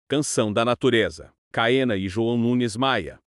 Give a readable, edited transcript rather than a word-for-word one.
Canção da Natureza. Caena e João Nunes Maia.